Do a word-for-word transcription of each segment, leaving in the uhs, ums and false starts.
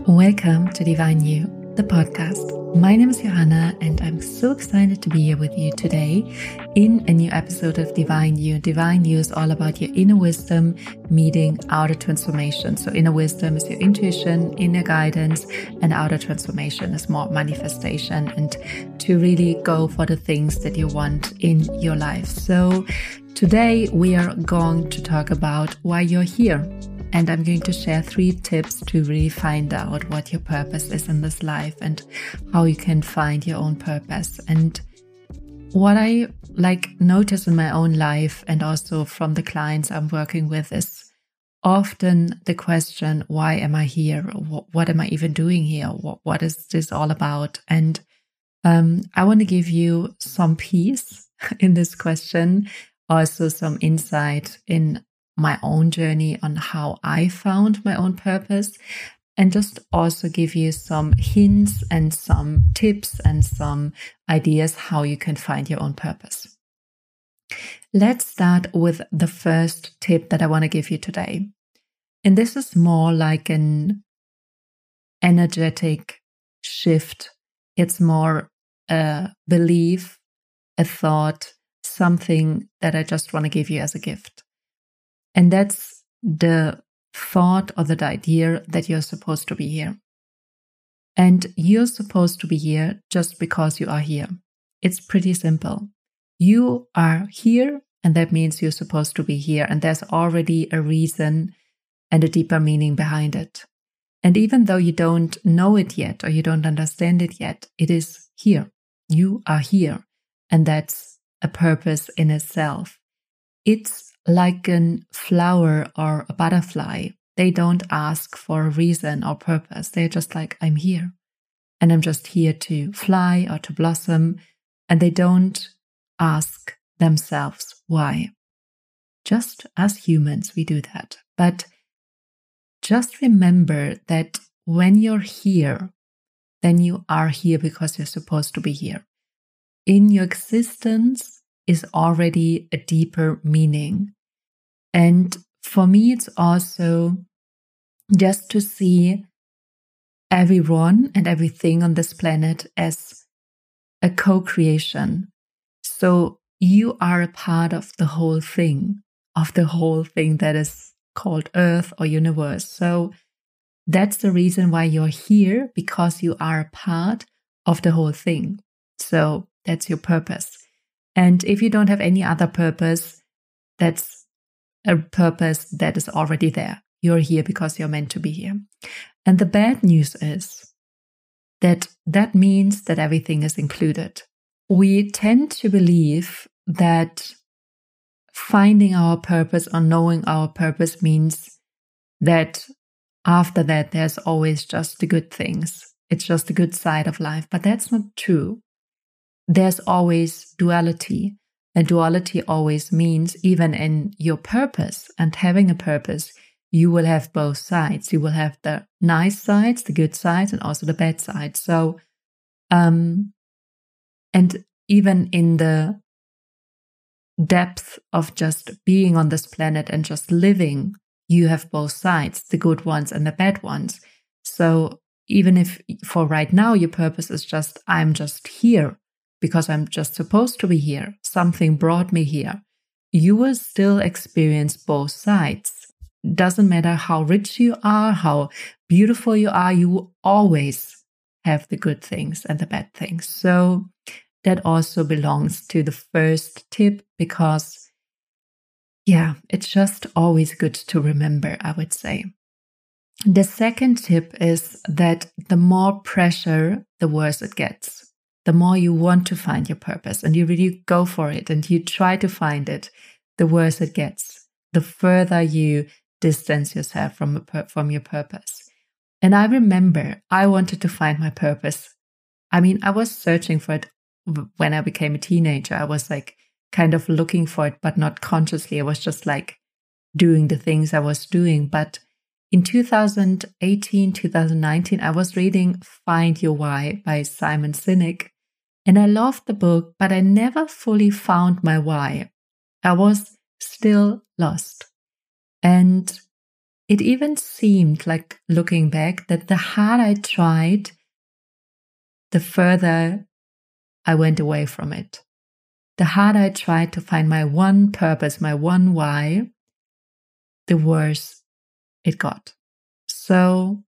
Welcome to Divine You, the podcast. My name is Johanna and I'm so excited to be here with you today in a new episode of Divine You. Divine You is all about your inner wisdom meeting outer transformation. So inner wisdom is your intuition, inner guidance, and outer transformation is more manifestation and to really go for the things that you want in your life. So today we are going to talk about why you're here. And I'm going to share three tips to really find out what your purpose is in this life and how you can find your own purpose. And what I like notice in my own life and also from the clients I'm working with is often the question, why am I here? What, what am I even doing here? What, what is this all about? And um, I want to give you some peace in this question, also some insight in my own journey on how I found my own purpose, and just also give you some hints and some tips and some ideas how you can find your own purpose. Let's start with the first tip that I want to give you today. And this is more like an energetic shift. It's more a belief, a thought, something that I just want to give you as a gift. And that's the thought or the idea that you're supposed to be here. And you're supposed to be here just because you are here. It's pretty simple. You are here, and that means you're supposed to be here. And there's already a reason and a deeper meaning behind it. And even though you don't know it yet or you don't understand it yet, it is here. You are here. And that's a purpose in itself. It's like a flower or a butterfly. They don't ask for a reason or purpose. They're just like, I'm here. And I'm just here to fly or to blossom. And they don't ask themselves why. Just as humans, we do that. But just remember that when you're here, then you are here because you're supposed to be here. In your existence is already a deeper meaning. And for me, it's also just to see everyone and everything on this planet as a co-creation. So you are a part of the whole thing, of the whole thing that is called Earth or universe. So that's the reason why you're here, because you are a part of the whole thing. So that's your purpose. And if you don't have any other purpose, that's a purpose that is already there. You're here because you're meant to be here. And the bad news is that that means that everything is included. We tend to believe that finding our purpose or knowing our purpose means that after that, there's always just the good things. It's just the good side of life. But that's not true. There's always duality. And duality always means, even in your purpose and having a purpose, you will have both sides. You will have the nice sides, the good sides, and also the bad sides. So, um, and even in the depth of just being on this planet and just living, you have both sides, the good ones and the bad ones. So even if for right now, your purpose is just, I'm just here, because I'm just supposed to be here. Something brought me here. You will still experience both sides. Doesn't matter how rich you are, how beautiful you are, you will always have the good things and the bad things. So that also belongs to the first tip, because yeah, it's just always good to remember, I would say. The second tip is that the more pressure, the worse it gets. The more you want to find your purpose and you really go for it and you try to find it, the worse it gets. The further you distance yourself from, from your purpose. And I remember I wanted to find my purpose. I mean, I was searching for it when I became a teenager. I was like kind of looking for it, but not consciously. I was just like doing the things I was doing. But in two thousand eighteen, two thousand nineteen, I was reading Find Your Why by Simon Sinek. And I loved the book, but I never fully found my why. I was still lost. And it even seemed like, looking back, that the harder I tried, the further I went away from it. The harder I tried to find my one purpose, my one why, the worse it got. So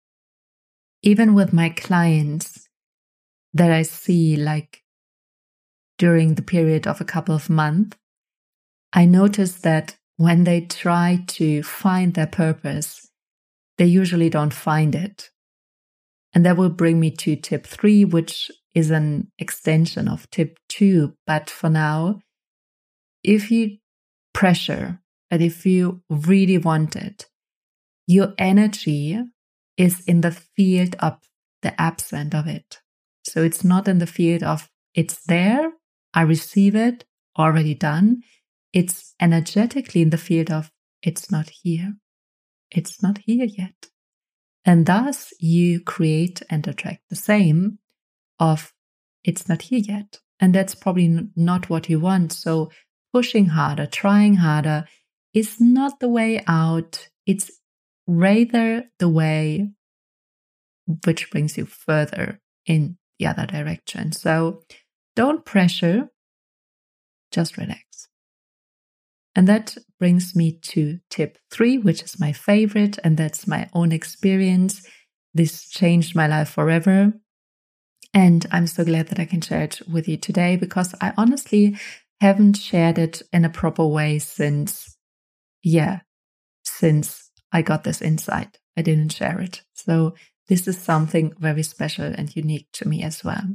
even with my clients that I see like during the period of a couple of months, I notice that when they try to find their purpose, they usually don't find it. And that will bring me to tip three, which is an extension of tip two. But for now, if you pressure, but if you really want it, your energy is in the field of the absent of it. So it's not in the field of it's there, I receive it, already done. It's energetically in the field of it's not here. It's not here yet. And thus you create and attract the same of it's not here yet. And that's probably not what you want. So pushing harder, trying harder is not the way out. It's rather the way which brings you further in the other direction. So don't pressure, just relax. And that brings me to tip three, which is my favorite, and that's my own experience. This changed my life forever. And I'm so glad that I can share it with you today, because I honestly haven't shared it in a proper way since, yeah, since I got this insight. I didn't share it. So this is something very special and unique to me as well.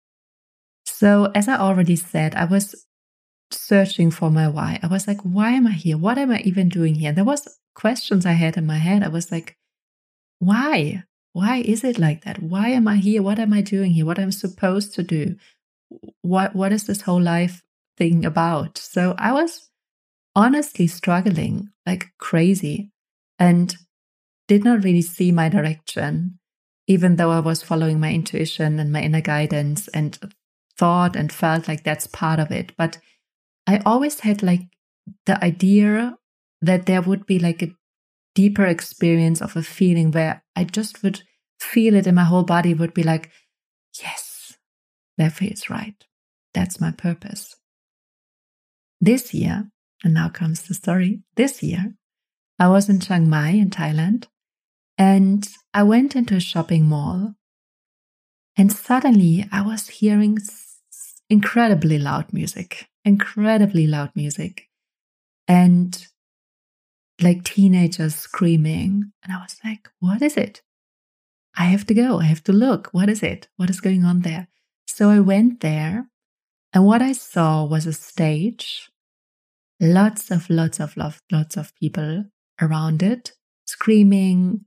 So as I already said, I was searching for my why. I was like, why am I here? What am I even doing here? There was questions I had in my head. I was like, why? Why is it like that? Why am I here? What am I doing here? What am I supposed to do? What What is this whole life thing about? So I was honestly struggling like crazy and did not really see my direction, even though I was following my intuition and my inner guidance and thought and felt like that's part of it. But I always had like the idea that there would be like a deeper experience of a feeling where I just would feel it in my whole body, would be like, yes, that feels right. That's my purpose. This year, and now comes the story, this year, I was in Chiang Mai in Thailand, and I went into a shopping mall, and suddenly I was hearing incredibly loud music, incredibly loud music, and like teenagers screaming. And I was like, what is it? I have to go. I have to look. What is it? What is going on there? So I went there, and what I saw was a stage, lots of, lots of, lots of people around it, screaming,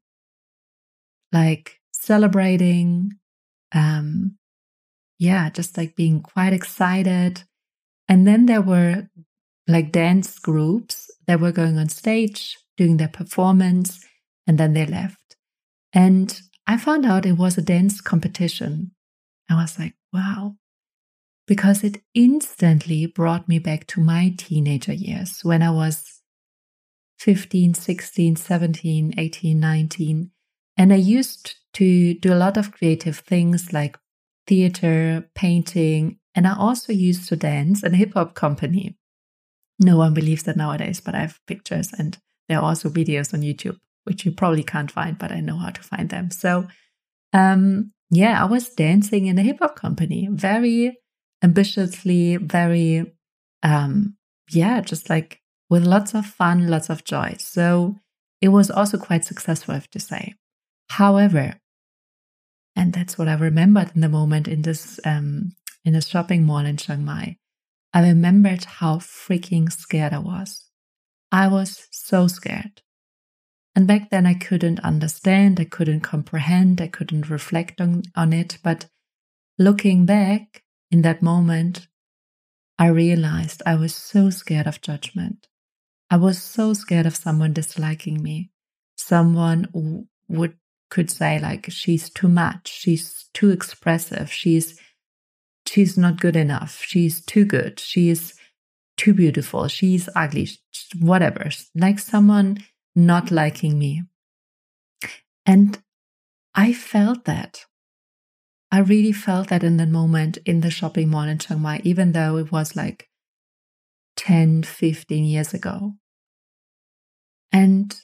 like celebrating, um, yeah, just like being quite excited. And then there were like dance groups that were going on stage, doing their performance, and then they left. And I found out it was a dance competition. I was like, wow, because it instantly brought me back to my teenager years when I was fifteen, sixteen, seventeen, eighteen, nineteen. And I used to do a lot of creative things like theater, painting, and I also used to dance in a hip hop company. No one believes that nowadays, but I have pictures and there are also videos on YouTube, which you probably can't find, but I know how to find them. So, um, yeah, I was dancing in a hip hop company, very ambitiously, very, um, yeah, just like with lots of fun, lots of joy. So it was also quite successful, I have to say. However, and that's what I remembered in the moment in this, um, in a shopping mall in Chiang Mai, I remembered how freaking scared I was. I was so scared. And back then I couldn't understand, I couldn't comprehend, I couldn't reflect on, on it. But looking back in that moment, I realized I was so scared of judgment. I was so scared of someone disliking me. Someone who would could say like, she's too much, she's too expressive, she's she's not good enough, she's too good, she's too beautiful, she's ugly, whatever. Like someone not liking me. And I felt that. I really felt that in the moment in the shopping mall in Chiang Mai, even though it was like ten, fifteen years ago. And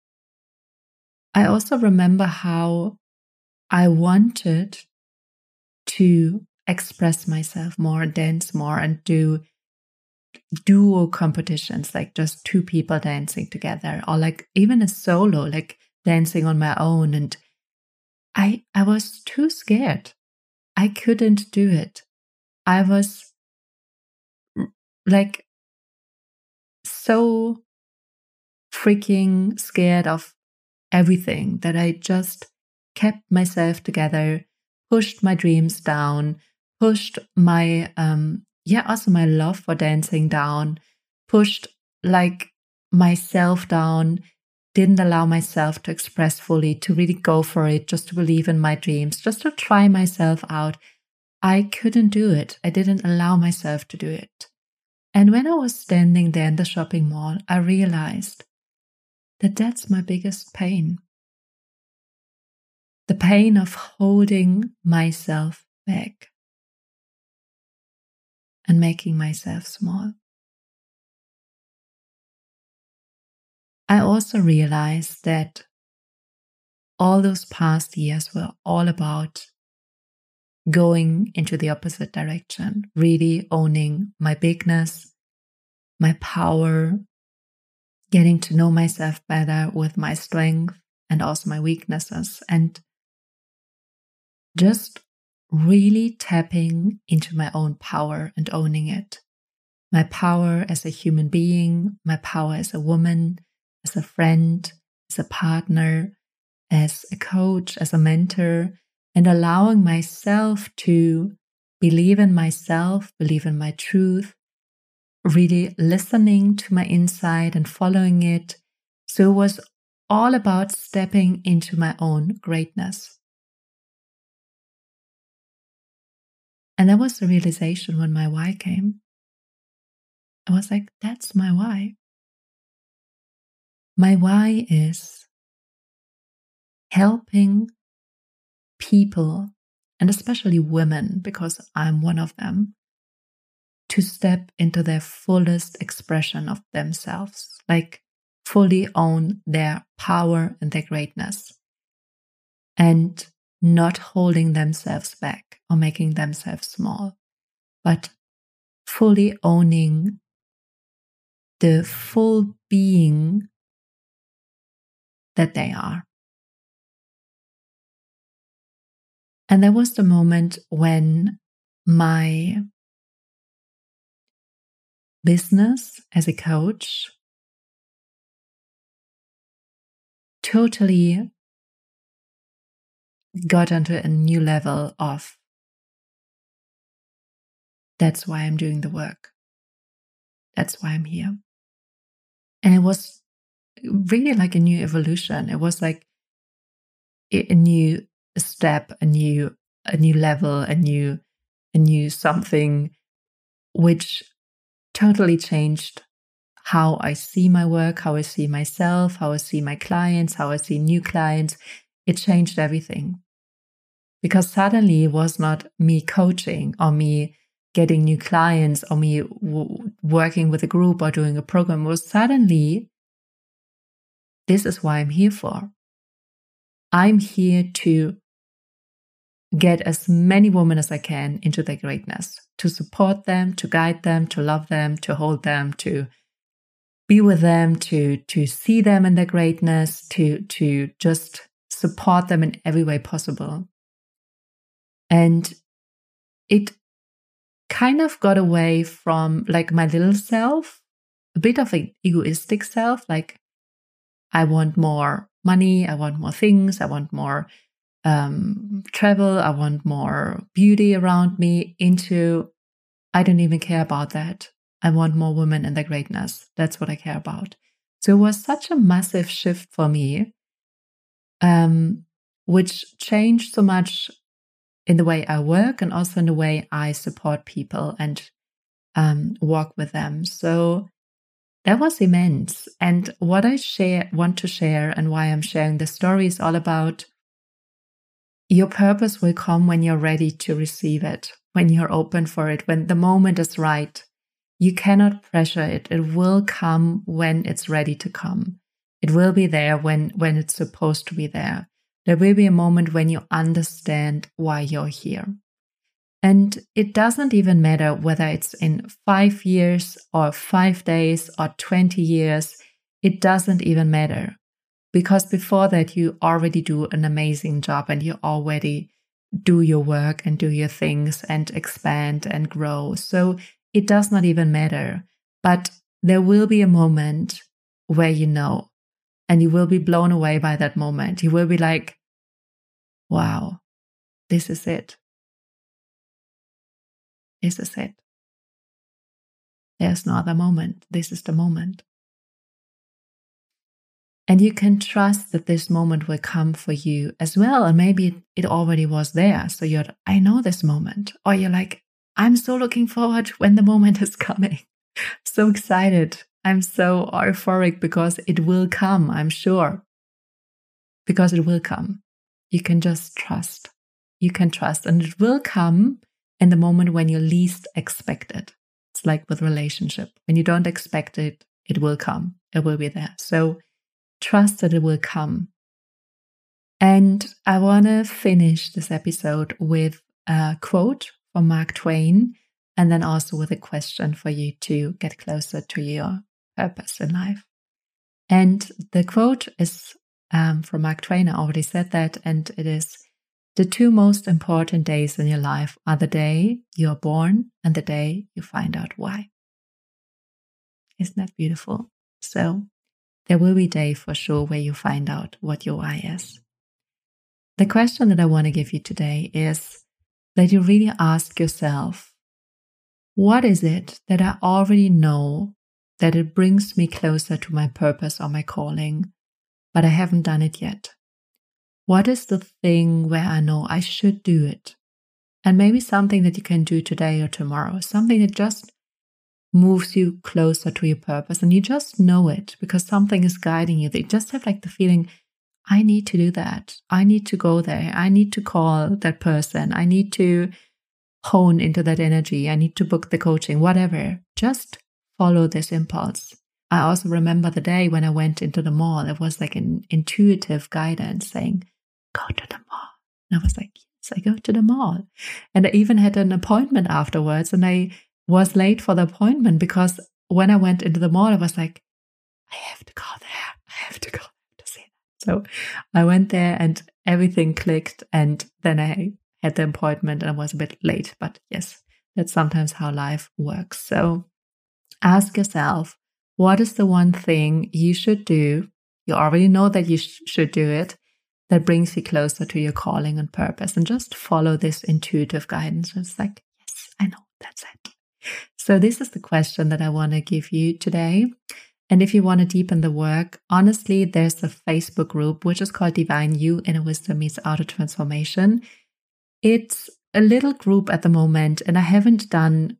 I also remember how I wanted to express myself more and dance more and do duo competitions, like just two people dancing together, or like even a solo, like dancing on my own. And I, I was too scared. I couldn't do it. I was like so freaking scared of everything that I just kept myself together, pushed my dreams down, pushed my, um, yeah, also my love for dancing down, pushed like myself down, didn't allow myself to express fully, to really go for it, just to believe in my dreams, just to try myself out. I couldn't do it. I didn't allow myself to do it. And when I was standing there in the shopping mall, I realized that that's my biggest pain. The pain of holding myself back and making myself small. I also realized that all those past years were all about going into the opposite direction, really owning my bigness, my power, getting to know myself better with my strength and also my weaknesses, and just really tapping into my own power and owning it. My power as a human being, my power as a woman, as a friend, as a partner, as a coach, as a mentor, and allowing myself to believe in myself, believe in my truth, really listening to my inside and following it. So it was all about stepping into my own greatness. And that was the realization when my why came. I was like, that's my why. My why is helping people, and especially women, because I'm one of them, to step into their fullest expression of themselves, like fully own their power and their greatness, and not holding themselves back or making themselves small, but fully owning the full being that they are. And there was the moment when my business as a coach totally got onto a new level of, that's why I'm doing the work. That's why I'm here. And it was really like a new evolution. It was like a new step, a new, a new level, a new, a new something, which totally changed how I see my work, how I see myself, how I see my clients, how I see new clients. It changed everything. Because suddenly it was not me coaching or me getting new clients or me w- working with a group or doing a program. It was suddenly, this is why I'm here for. I'm here to get as many women as I can into their greatness, to support them, to guide them, to love them, to hold them, to be with them, to, to see them in their greatness, to, to just support them in every way possible. And it kind of got away from like my little self, a bit of an egoistic self, like I want more money, I want more things, I want more um, travel, I want more beauty around me, into I don't even care about that. I want more women in their greatness. That's what I care about. So it was such a massive shift for me, um, which changed so much in the way I work and also in the way I support people and um, walk with them. So that was immense. And what I share, want to share and why I'm sharing the story is all about your purpose will come when you're ready to receive it, when you're open for it, when the moment is right. You cannot pressure it. It will come when it's ready to come. It will be there when, when it's supposed to be there. There will be a moment when you understand why you're here. And it doesn't even matter whether it's in five years or five days or twenty years. It doesn't even matter. Because before that, you already do an amazing job and you already do your work and do your things and expand and grow. So it does not even matter. But there will be a moment where you know, and you will be blown away by that moment. You will be like, wow, this is it. This is it. There's no other moment. This is the moment. And you can trust that this moment will come for you as well. And maybe it already was there. So you're, I know this moment. Or you're like, I'm so looking forward when the moment is coming. So excited. I'm so euphoric because it will come, I'm sure. Because it will come. You can just trust. You can trust. And it will come in the moment when you least expect it. It's like with relationship. When you don't expect it, it will come. It will be there. So trust that it will come. And I want to finish this episode with a quote from Mark Twain, and then also with a question for you to get closer to your purpose in life. And the quote is um, from Mark Twain. I already said that, and it is, the two most important days in your life are the day you're born and the day you find out why. Isn't that beautiful? So there will be a day for sure where you find out what your why is. The question that I want to give you today is that you really ask yourself, what is it that I already know that it brings me closer to my purpose or my calling, but I haven't done it yet? What is the thing where I know I should do it? And maybe something that you can do today or tomorrow, something that just moves you closer to your purpose, and you just know it because something is guiding you. They just have like the feeling, I need to do that. I need to go there. I need to call that person. I need to hone into that energy. I need to book the coaching, whatever. Just follow this impulse. I also remember the day when I went into the mall. It was like an intuitive guidance saying, go to the mall. And I was like, yes, I go to the mall. And I even had an appointment afterwards, and I was late for the appointment because when I went into the mall, I was like, I have to go there. I have to go to see that. So I went there and everything clicked, and then I had the appointment and I was a bit late. But yes, that's sometimes how life works. So ask yourself, what is the one thing you should do? You already know that you sh- should do it. That brings you closer to your calling and purpose, and just follow this intuitive guidance. It's like, yes, I know, that's it. So this is the question that I want to give you today. And if you want to deepen the work, honestly, there's a Facebook group, which is called Divine You, Inner Wisdom Meets Outer Transformation. It's a little group at the moment, and I haven't done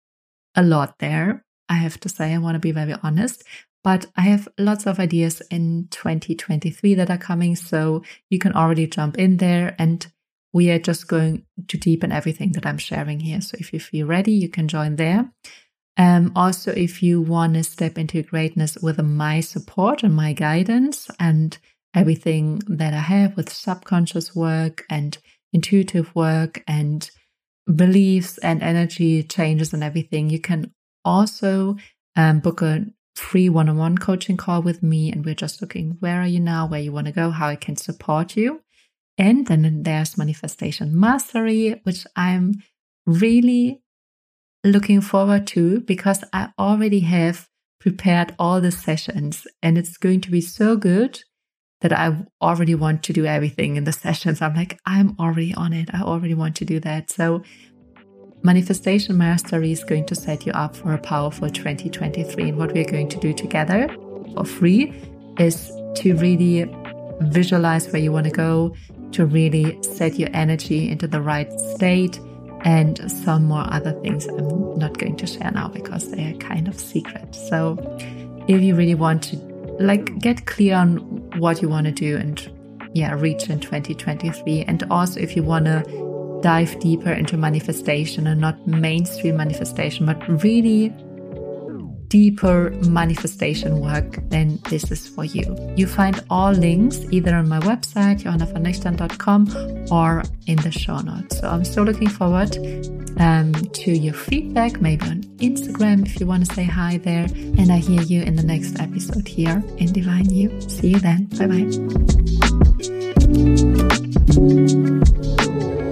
a lot there. I have to say, I want to be very honest, but I have lots of ideas in twenty twenty-three that are coming. So you can already jump in there, and we are just going to deepen everything that I'm sharing here. So if you feel ready, you can join there. Um, also, if you want to step into greatness with my support and my guidance and everything that I have with subconscious work and intuitive work and beliefs and energy changes and everything, you can also um, book a free one-on-one coaching call with me. And we're just looking, where are you now, where you want to go, how I can support you. And then there's Manifestation Mastery, which I'm really looking forward to because I already have prepared all the sessions, and it's going to be so good that I already want to do everything in the sessions. I'm like, I'm already on it. I already want to do that. So Manifestation Mastery is going to set you up for a powerful twenty twenty-three. And what we're going to do together for free is to really visualize where you want to go, to really set your energy into the right state, and some more other things I'm not going to share now because they are kind of secret. So if you really want to like get clear on what you want to do and yeah, reach in twenty twenty-three. And also if you want to dive deeper into manifestation and not mainstream manifestation, but really deeper manifestation work, then this is for you. You find all links either on my website, johanna van nüchtern dot com, or in the show notes. So I'm so looking forward um, to your feedback, maybe on Instagram if you want to say hi there. And I hear you in the next episode here in Divine You. See you then. Bye bye.